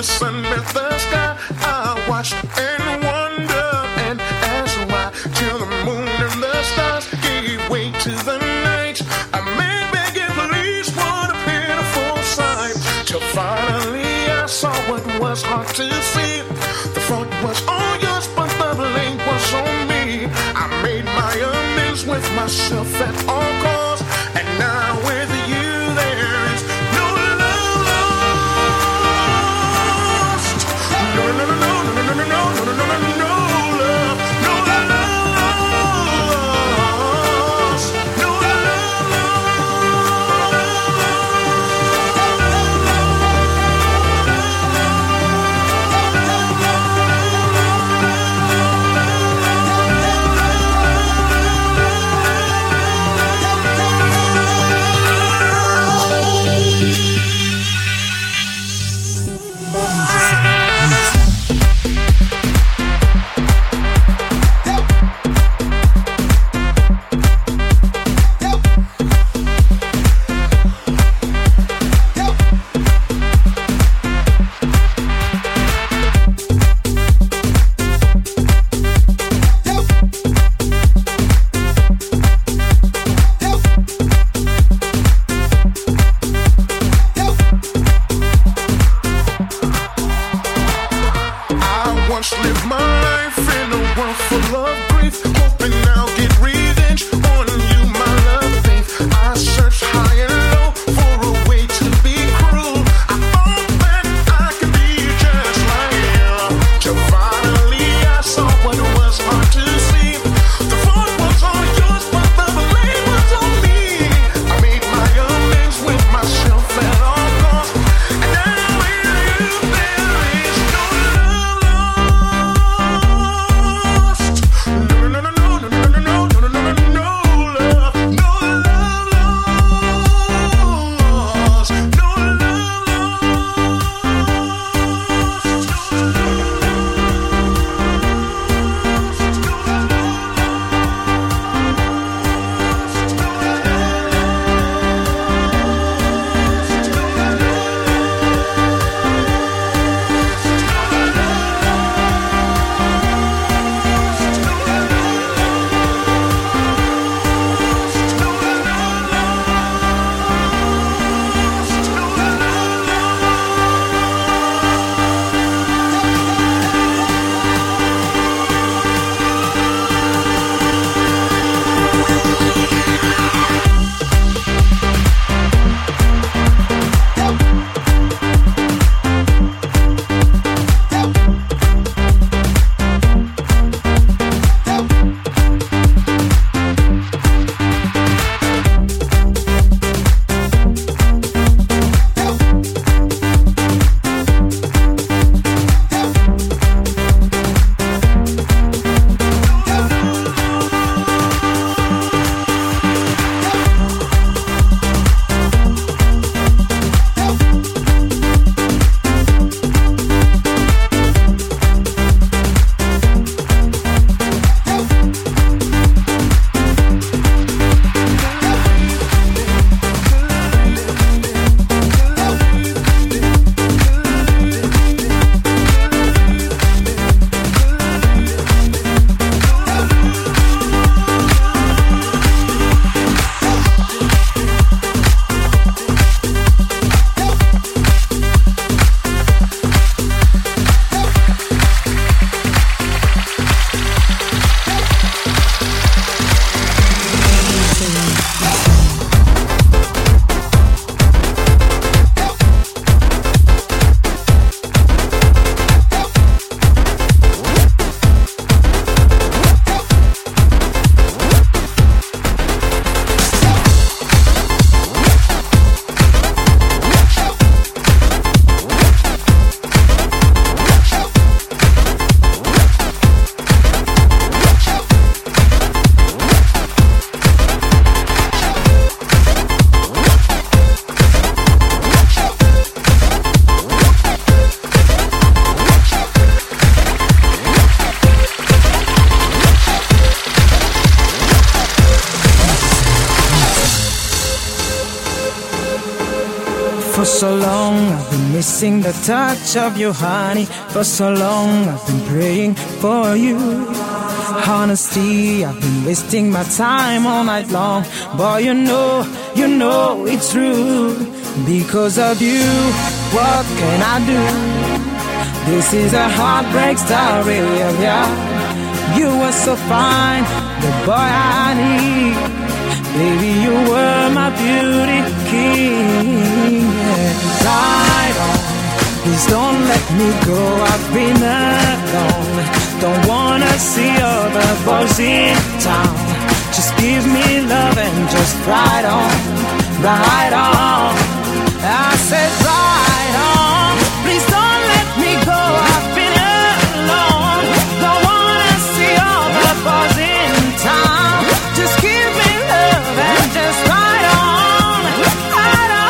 sun met the sky. I watched and wondered and asked why, till the moon and the stars gave way to the night. A man begging police, what a pitiful sight. Till finally I saw what was hard to see. The fault was all yours, but the blame was on me. I made my amends with myself at all costs, and now with you there is no love lost. No, no, no, no, no, no, no, no, no, no, no, no, no love, no love lost, no love For so long I've been missing the touch of you, honey. For so long I've been praying for you. Honesty, I've been wasting my time all night long. Boy, you know it's true. Because of you, what can I do? This is a heartbreak story of ya. You were so fine, the boy I need. Baby, you were my beauty king. Yeah. Ride on, please don't let me go. I've been alone. Don't wanna see other boys in town. Just give me love and just ride on, ride on. I said ride on, please don't let me go. I've been alone. Don't wanna see other boys in town. Just give me love and just ride on, ride on.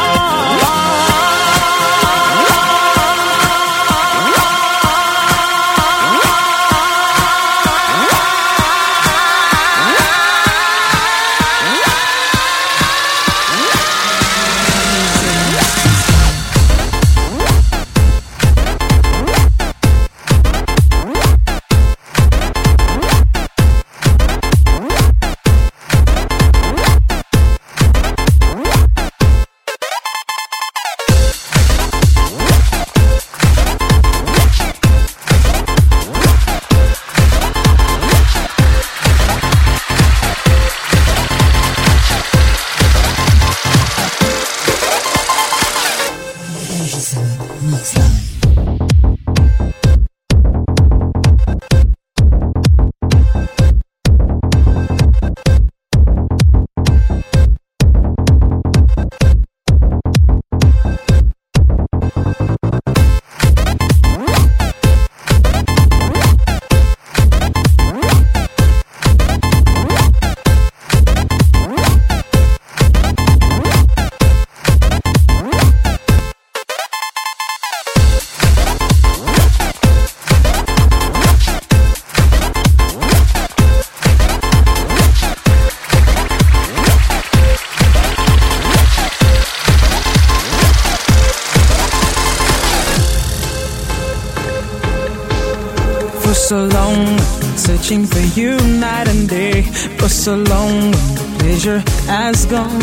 For so long I've been searching for you night and day. For so long the pleasure has gone.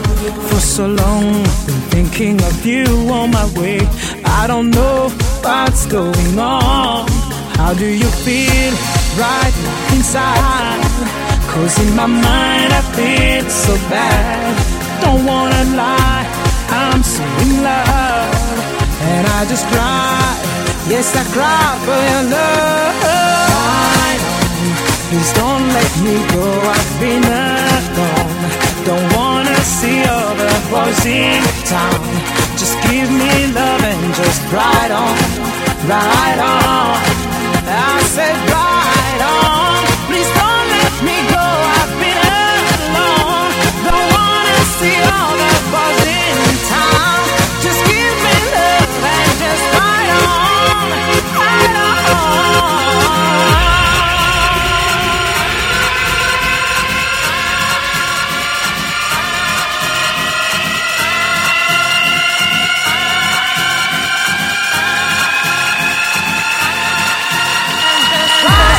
For so long I've been thinking of you on my way. I don't know what's going on. How do you feel right inside? 'Cause in my mind I feel so bad. Don't wanna lie, I'm so in love. And I just cry, yes I cry for your love. Please don't let me go, I've been alone. Don't wanna see other boys in town. Just give me love and just ride on, ride on. I said ride on, please don't let me go, I've been alone. Don't wanna see other boys in town. Just give me love and just ride on, ride on. Right.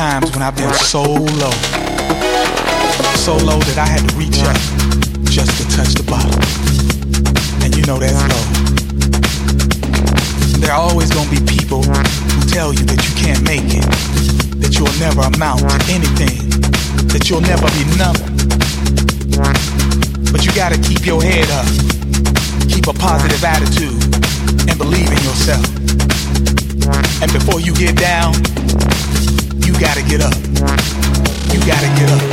times when I've been so low that I had to reach up just to touch the bottom. And you know that's low. And there are always gonna be people who tell you that you can't make it, that you'll never amount to anything, that you'll never be nothing. But you gotta keep your head up, keep a positive attitude, and believe in yourself. And before you get down, you gotta get up. You gotta get up.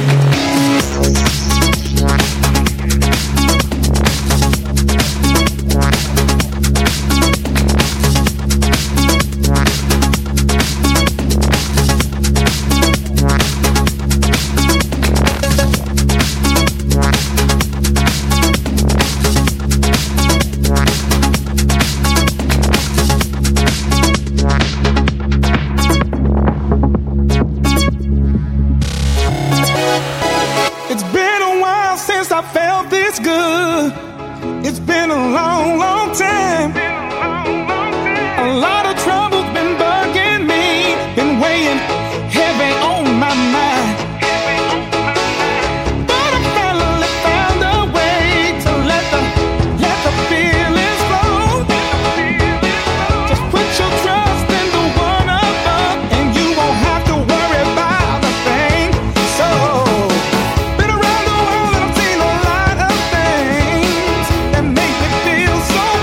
So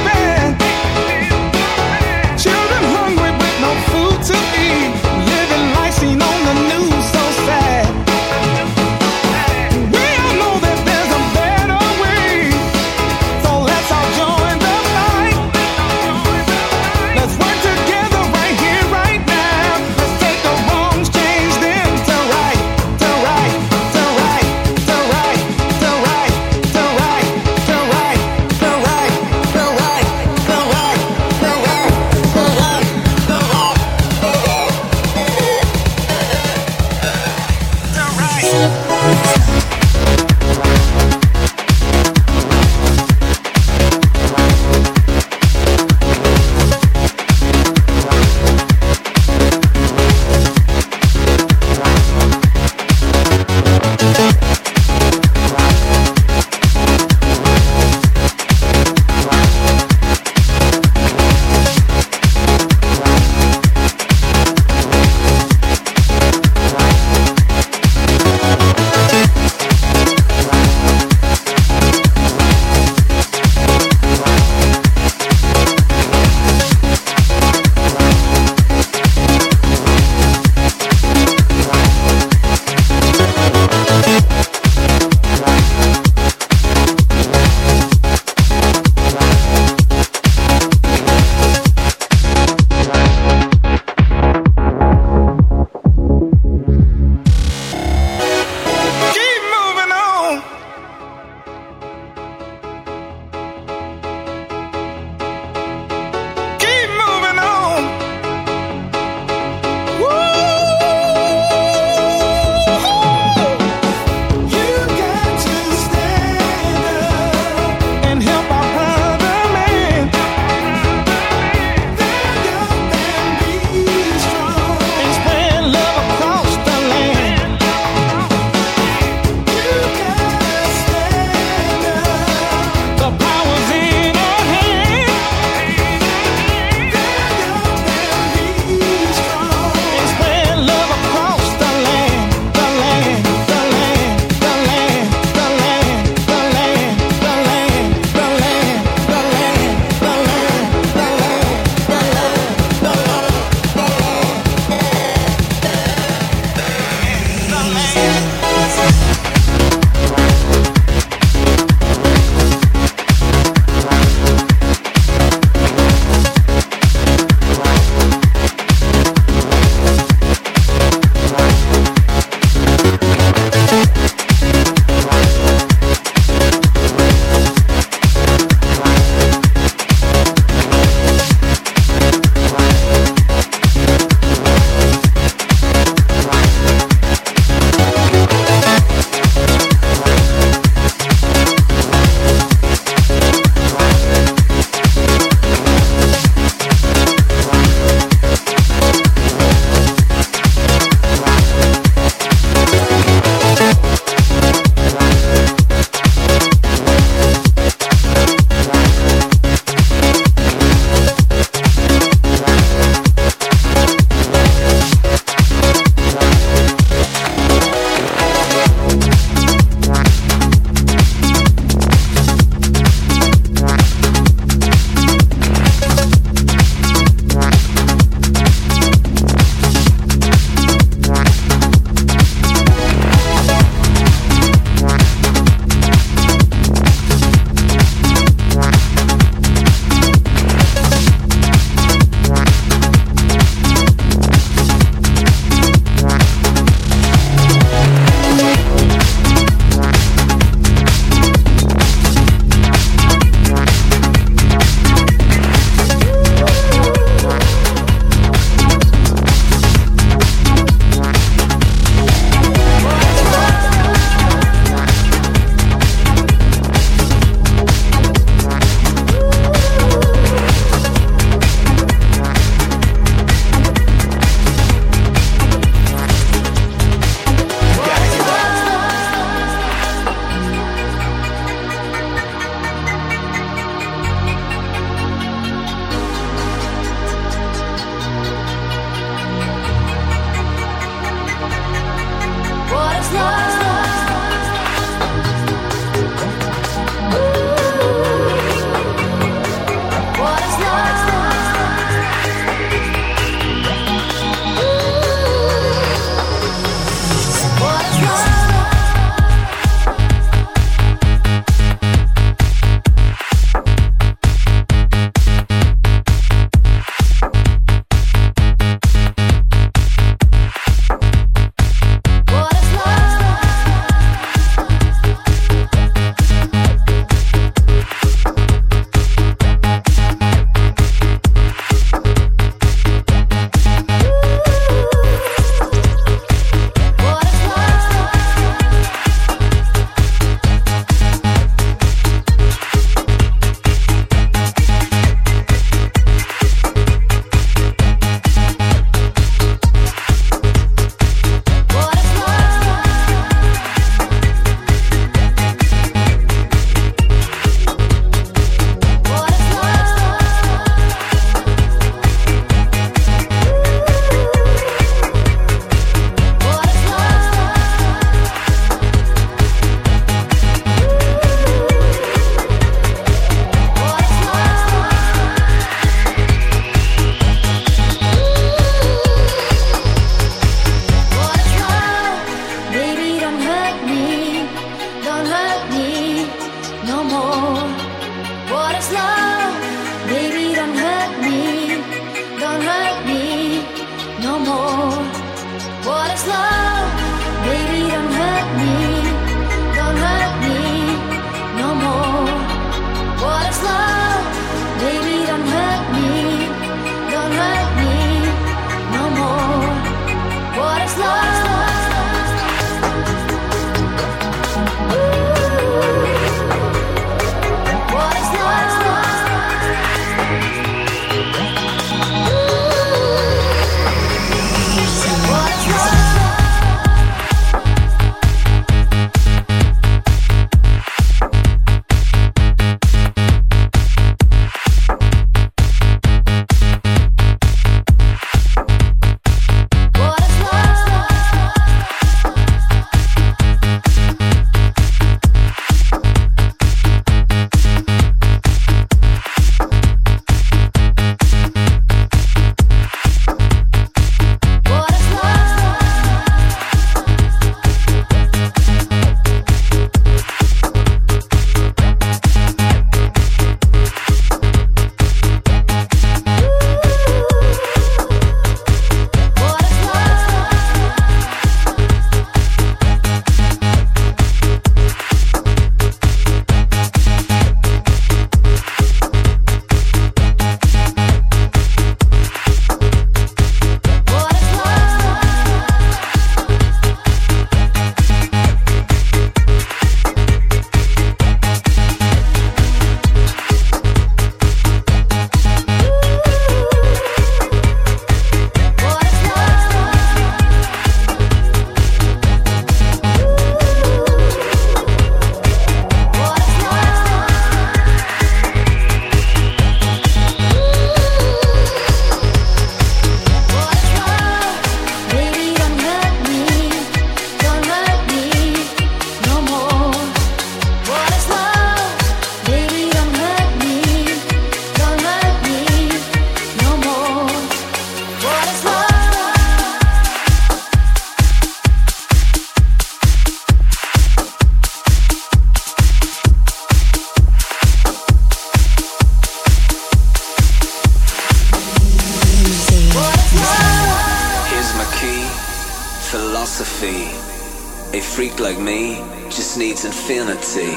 A freak like me just needs infinity.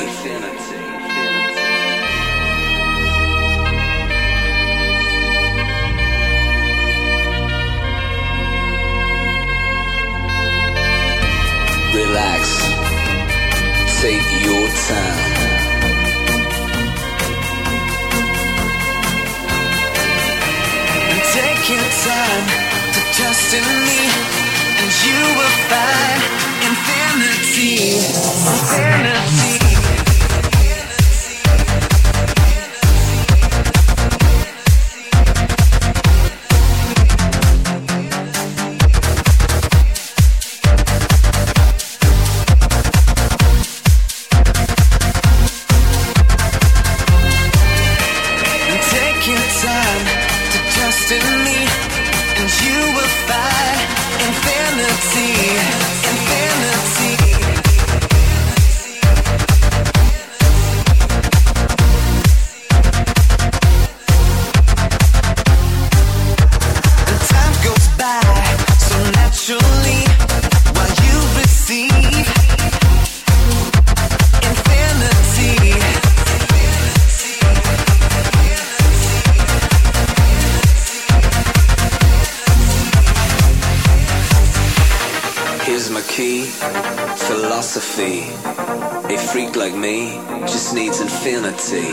Relax, take your time. Take your time to trust in me, and you will find infinity, infinity. Take your time to trust in me, and you will find infinity, infinity. And time goes by so naturally while you receive infinity. Here's my key, philosophy. A freak like me just needs infinity.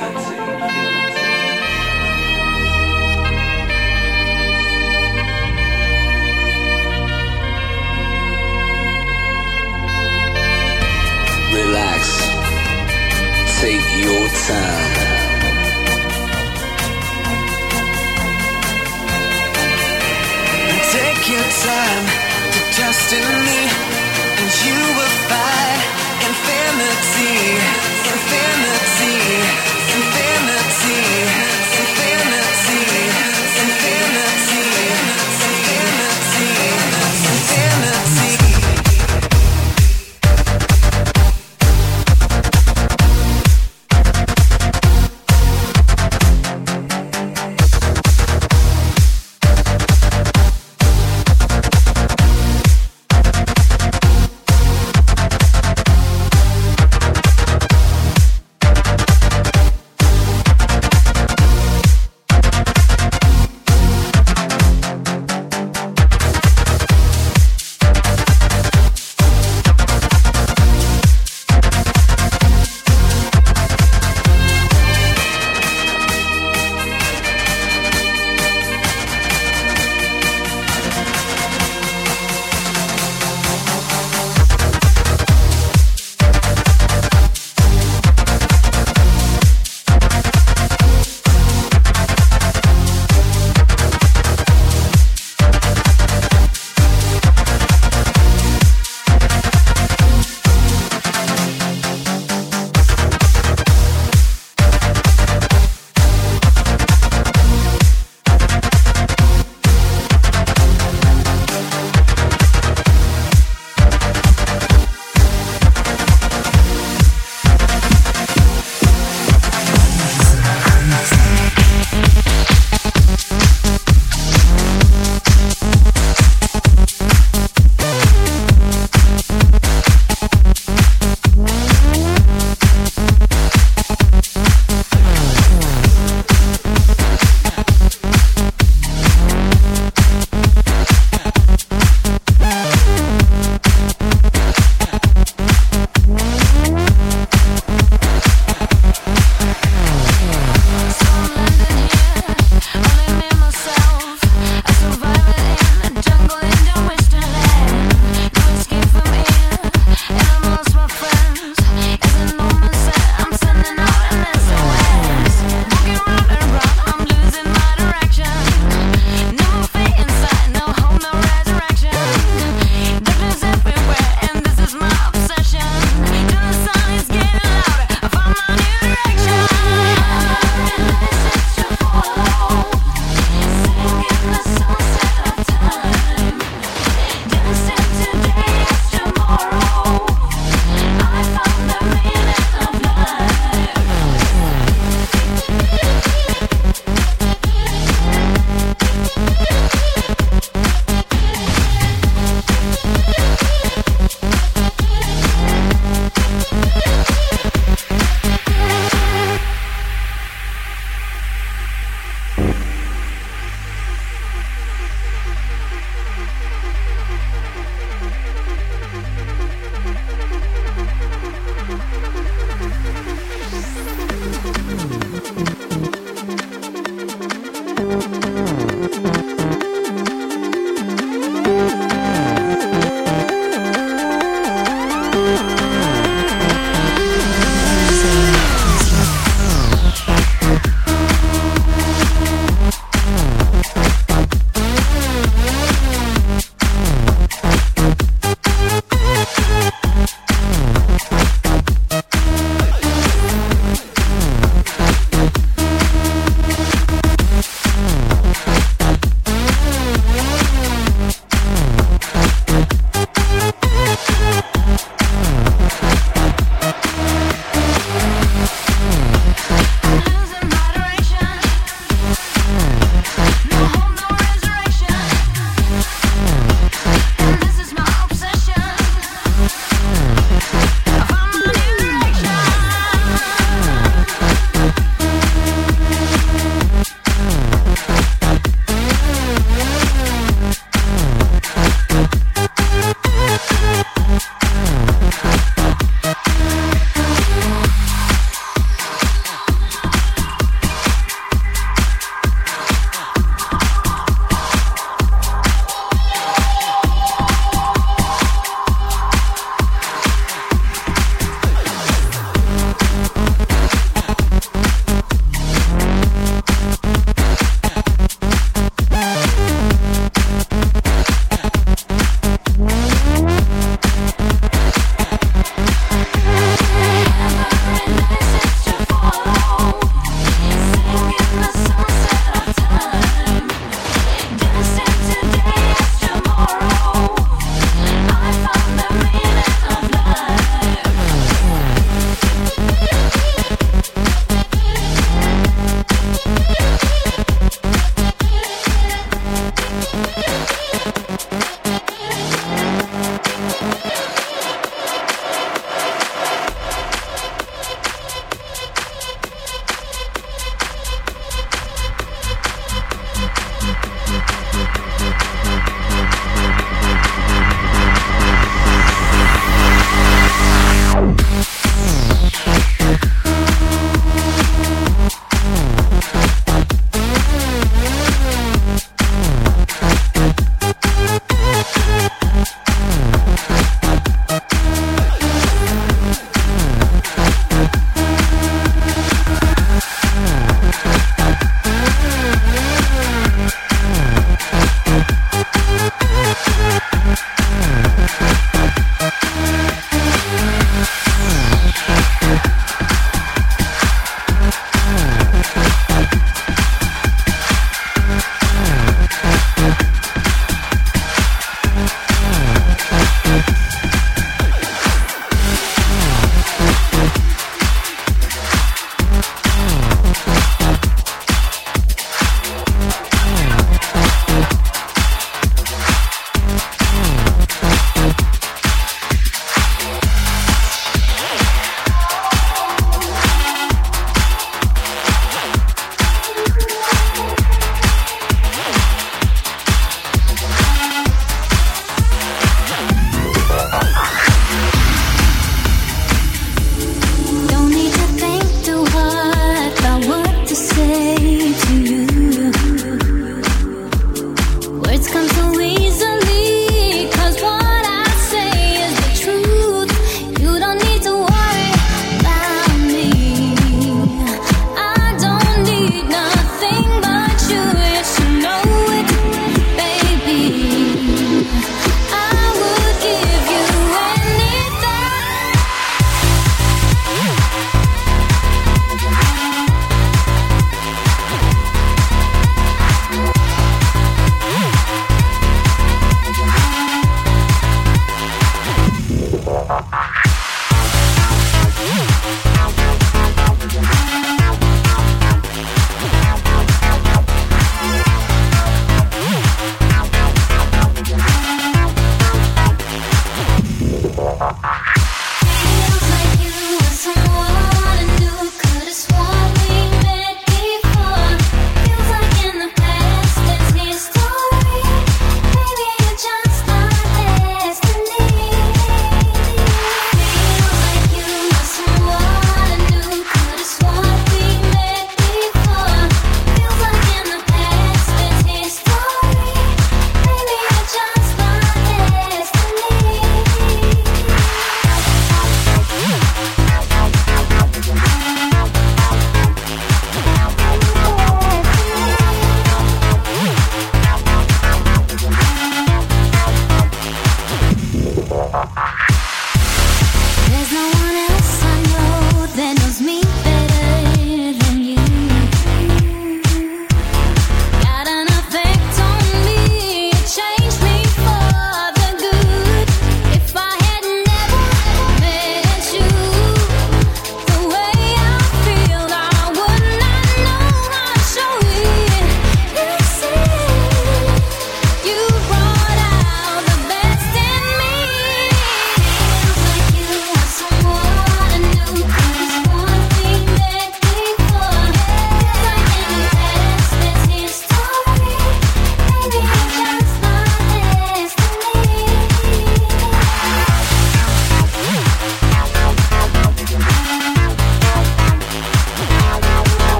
Relax, take your time. Take your time to trust in me, and you will find infinity, infinity, infinity, infinity, infinity, infinity, infinity.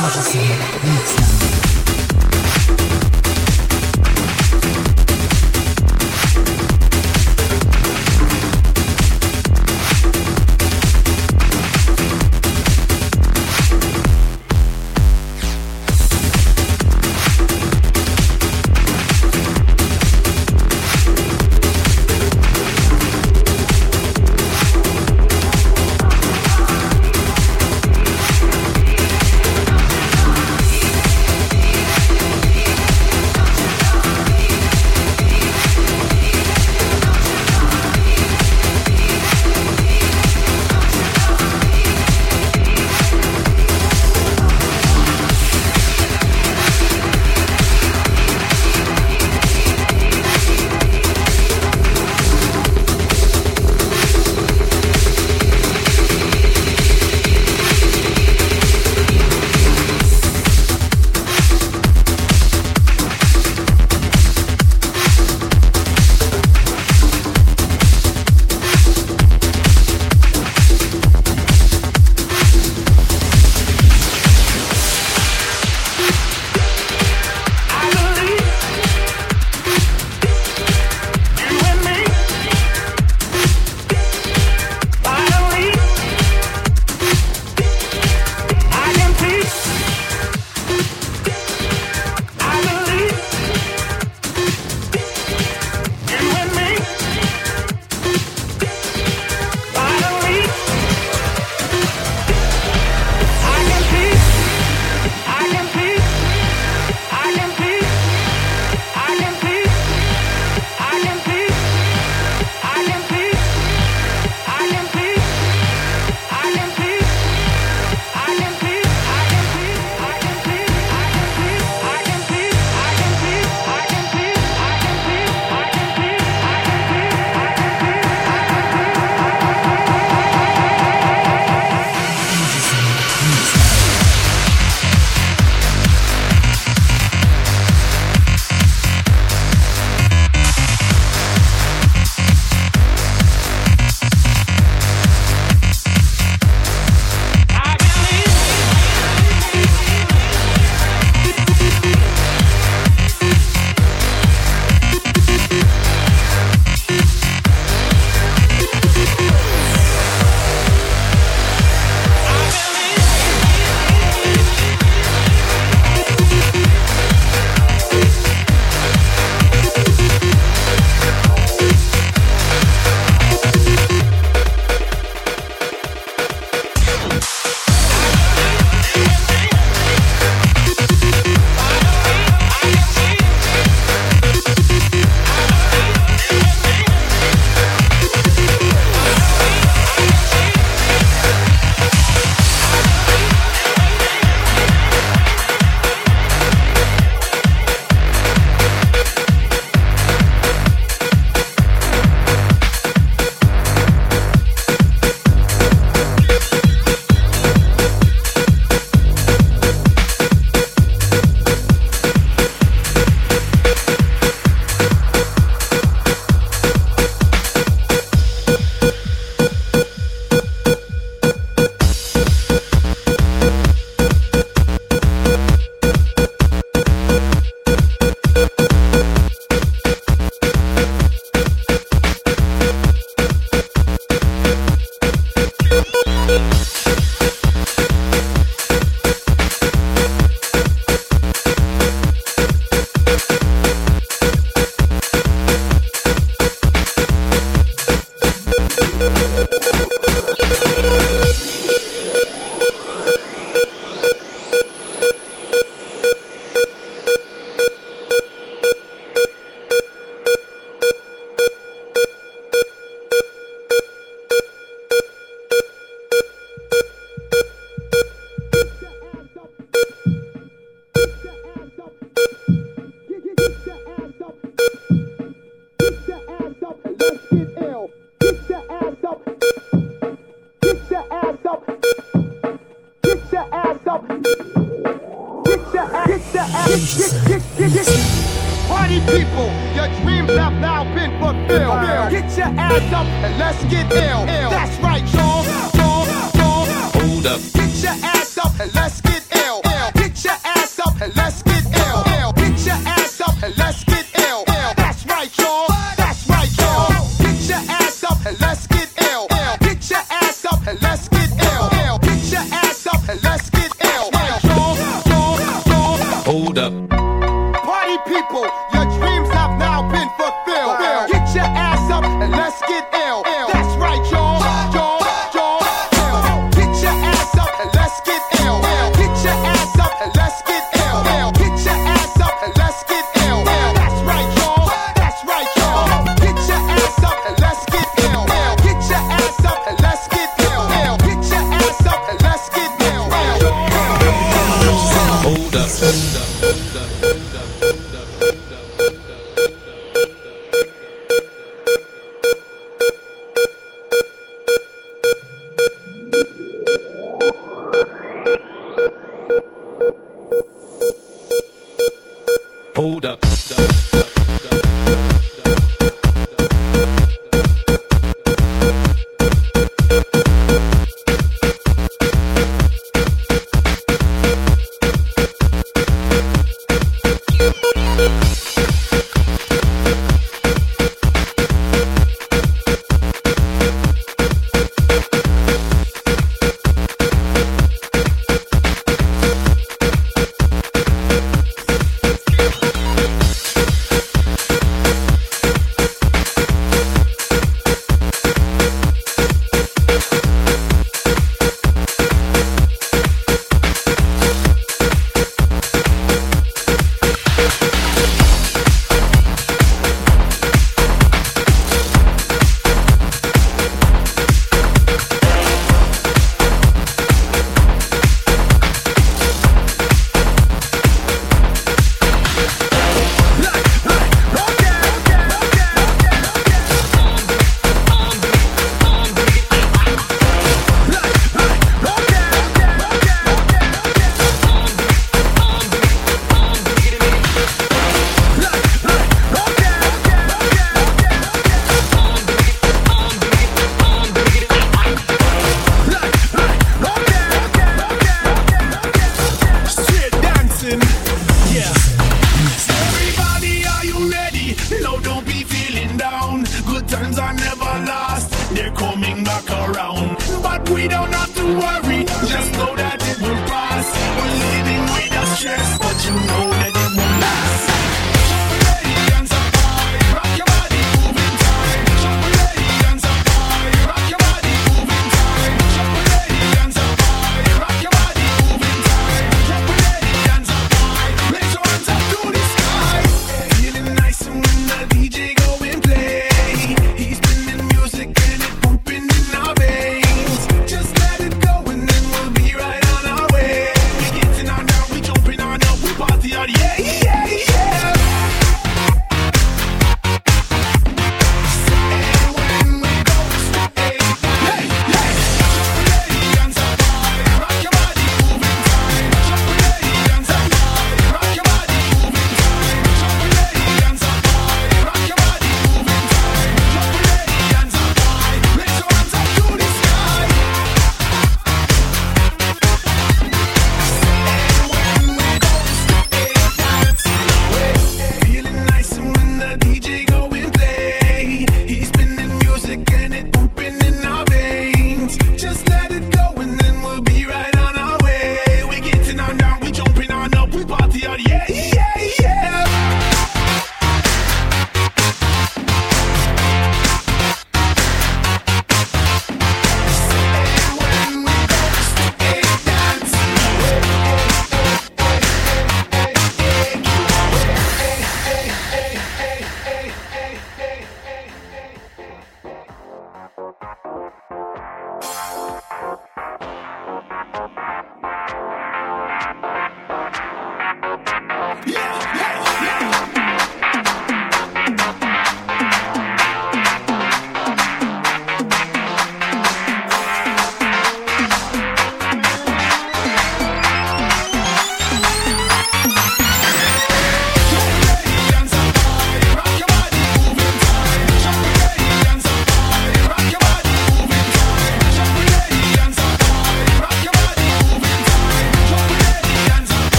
Party people, your dreams have now been fulfilled. Get your ass up and let's get ill. That's right, y'all. Hold up. Get your ass up and let's get ill. Hold up. Party people, your dreams have now been fulfilled. Get your ass up and let's get ill. That's right, y'all. Get your ass up and let's get ill. Get your ass up and let's get ill. Get your ass up and let's get ill. That's right, y'all. That's right, y'all. Get your ass up and let's get ill. Get your ass up and let's get ill. Get your ass up and let's get ill. Hold up. Hold up.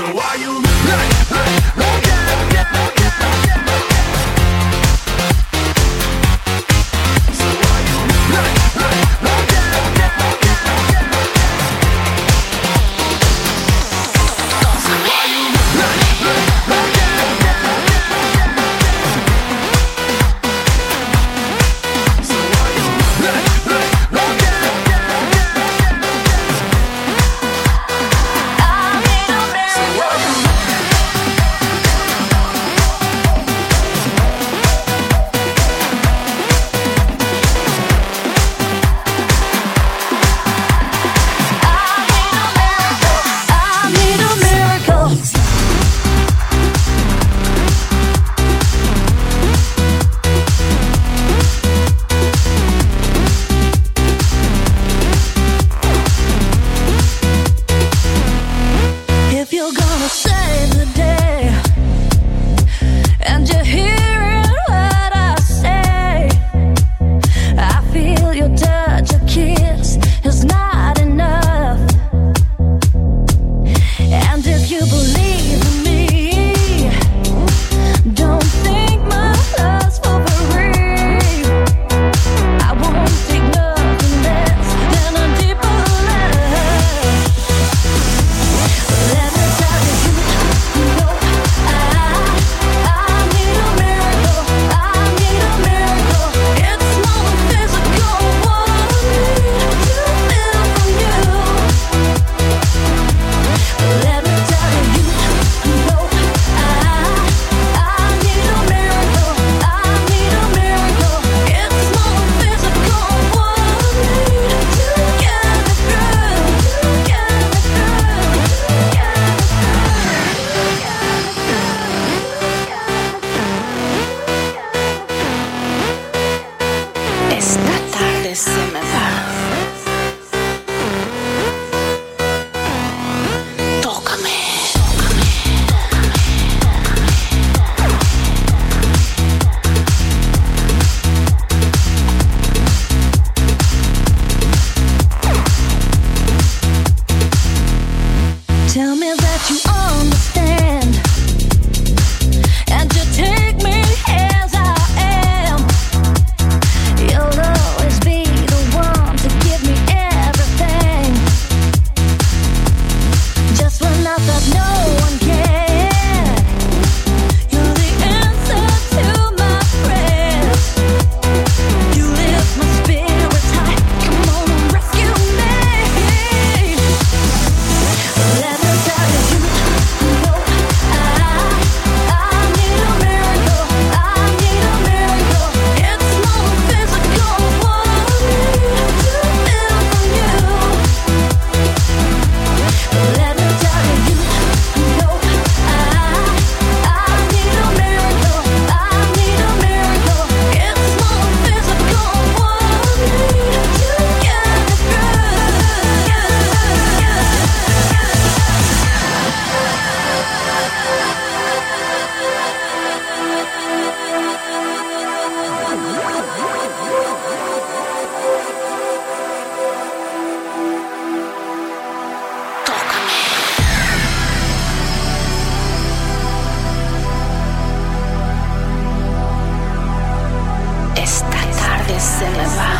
se me va.